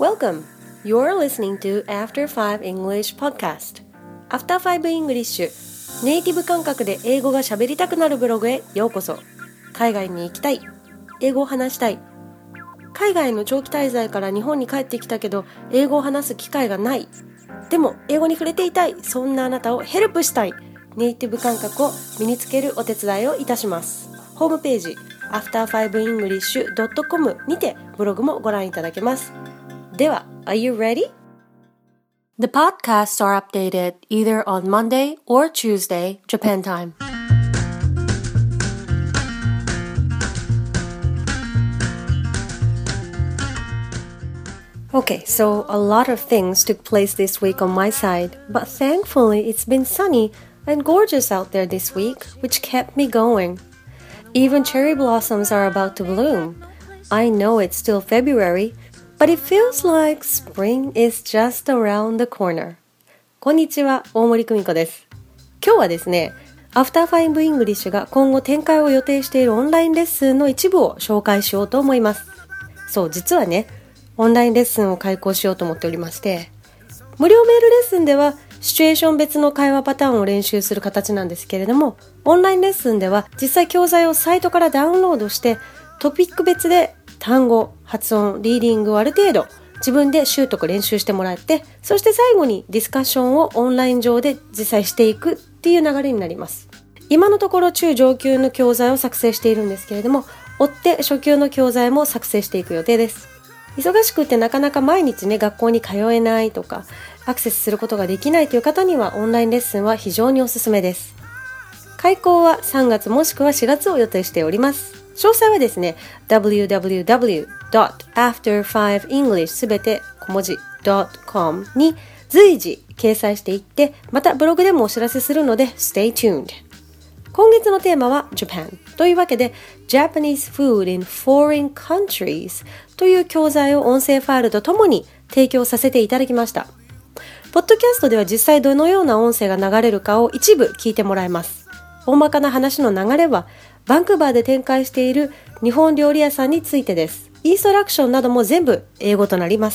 Welcome! You're listening to After 5 English Podcast. After 5 English ネイティブ感覚で英語が喋りたくなるブログへようこそ。海外に行きたい、英語を話したい、海外の長期滞在から日本に帰ってきたけど英語を話す機会がない、でも英語に触れていたい、そんなあなたをヘルプしたい、ネイティブ感覚を身につけるお手伝いをいたします。ホームページ after5english.com にてブログもご覧いただけます。では、Are you ready? The podcasts are updated either on Monday or Tuesday, Japan time. Okay, so a lot of things took place this week on my side, but thankfully it's been sunny and gorgeous out there this week, which kept me going. Even cherry blossoms are about to bloom. I know it's still February, but it feels like spring is just around the corner. こんにちは、大森久美子です。今日はですね、After 5 English が今後展開を予定しているオンラインレッスンの一部を紹介しようと思います。そう、実はね、オンラインレッスンを開講しようと思っておりまして、無料メールレッスンではシチュエーション別の会話パターンを練習する形なんですけれども、オンラインレッスンでは実際教材をサイトからダウンロードしてトピック別で単語、発音、リーディングをある程度自分で習得練習してもらって、そして最後にディスカッションをオンライン上で実際していくっていう流れになります。今のところ中上級の教材を作成しているんですけれども、追って初級の教材も作成していく予定です。忙しくてなかなか毎日ね、学校に通えないとかアクセスすることができないという方にはオンラインレッスンは非常におすすめです。開講は3月もしくは4月を予定しております。詳細はですね www.after5english すべて小文字 .com に随時掲載していって、またブログでもお知らせするので Stay tuned。 今月のテーマは Japan というわけで Japanese food in foreign countries という教材を音声ファイルとともに提供させていただきました。ポッドキャストでは実際どのような音声が流れるかを一部聞いてもらいます。大まかな話の流れはバンクーバーで展開している日本料理屋さんについてです。インストラクションなども全部英語となります。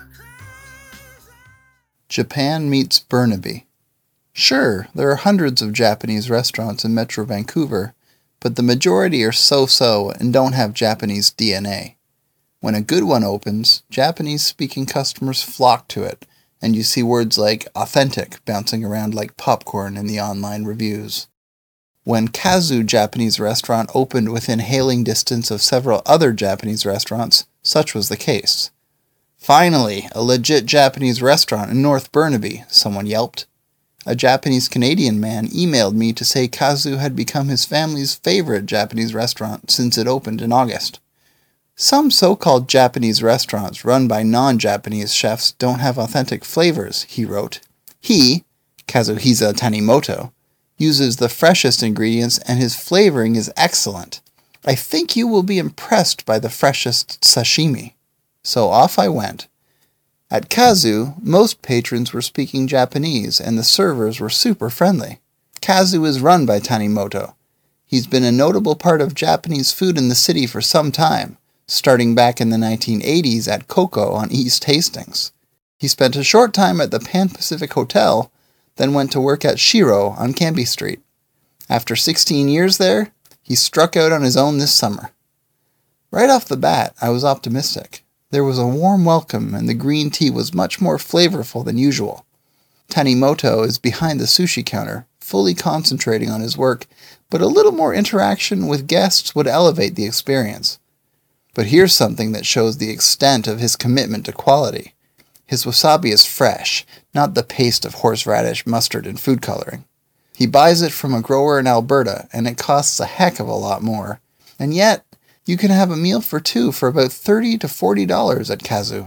Japan meets Burnaby. Sure, there are hundreds of Japanese restaurants in Metro Vancouver, but the majority are so-so and don't have Japanese DNA. When a good one opens, Japanese-speaking customers flock to it, and you see words like authentic bouncing around like popcorn in the online reviews. When Kazu Japanese Restaurant opened within hailing distance of several other Japanese restaurants, such was the case. Finally, a legit Japanese restaurant in North Burnaby, someone yelped. A Japanese-Canadian man emailed me to say Kazu had become his family's favorite Japanese restaurant since it opened in August. Some so-called Japanese restaurants run by non-Japanese chefs don't have authentic flavors, he wrote. He, Kazuhisa Tanimoto, uses the freshest ingredients and his flavoring is excellent. I think you will be impressed by the freshest sashimi. So off I went. At Kazu, most patrons were speaking Japanese and the servers were super friendly. Kazu is run by Tanimoto. He's been a notable part of Japanese food in the city for some time, starting back in the 1980s at Coco on East Hastings. He spent a short time at the Pan Pacific Hotel, then went to work at Shiro on Cambie Street. After 16 years there, he struck out on his own this summer. Right off the bat, I was optimistic. There was a warm welcome and the green tea was much more flavorful than usual. Tanimoto is behind the sushi counter, fully concentrating on his work, but a little more interaction with guests would elevate the experience. But here's something that shows the extent of his commitment to quality. His wasabi is fresh, not the paste of horseradish, mustard, and food coloring. He buys it from a grower in Alberta, and it costs a heck of a lot more. And yet, you can have a meal for two for about $30 to $40 at Kazu.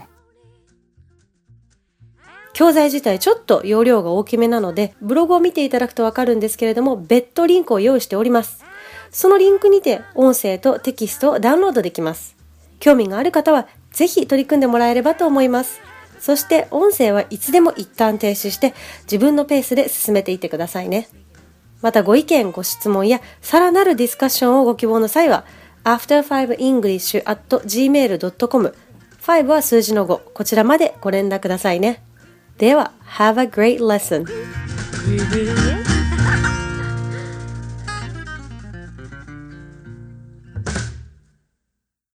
教材自体ちょっと容量が大きめなので、ブログを見ていただくとわかるんですけれども、別途リンクを用意しております。そのリンクにて音声とテキストをダウンロードできます。興味がある方はぜひ取り組んでもらえればと思います。そして音声はいつでも一旦停止して自分のペースで進めていってくださいね。またご意見、ご質問やさらなるディスカッションをご希望の際は after5english@gmail.com 5は数字の5。こちらまでご連絡くださいね。では、Have a great lesson!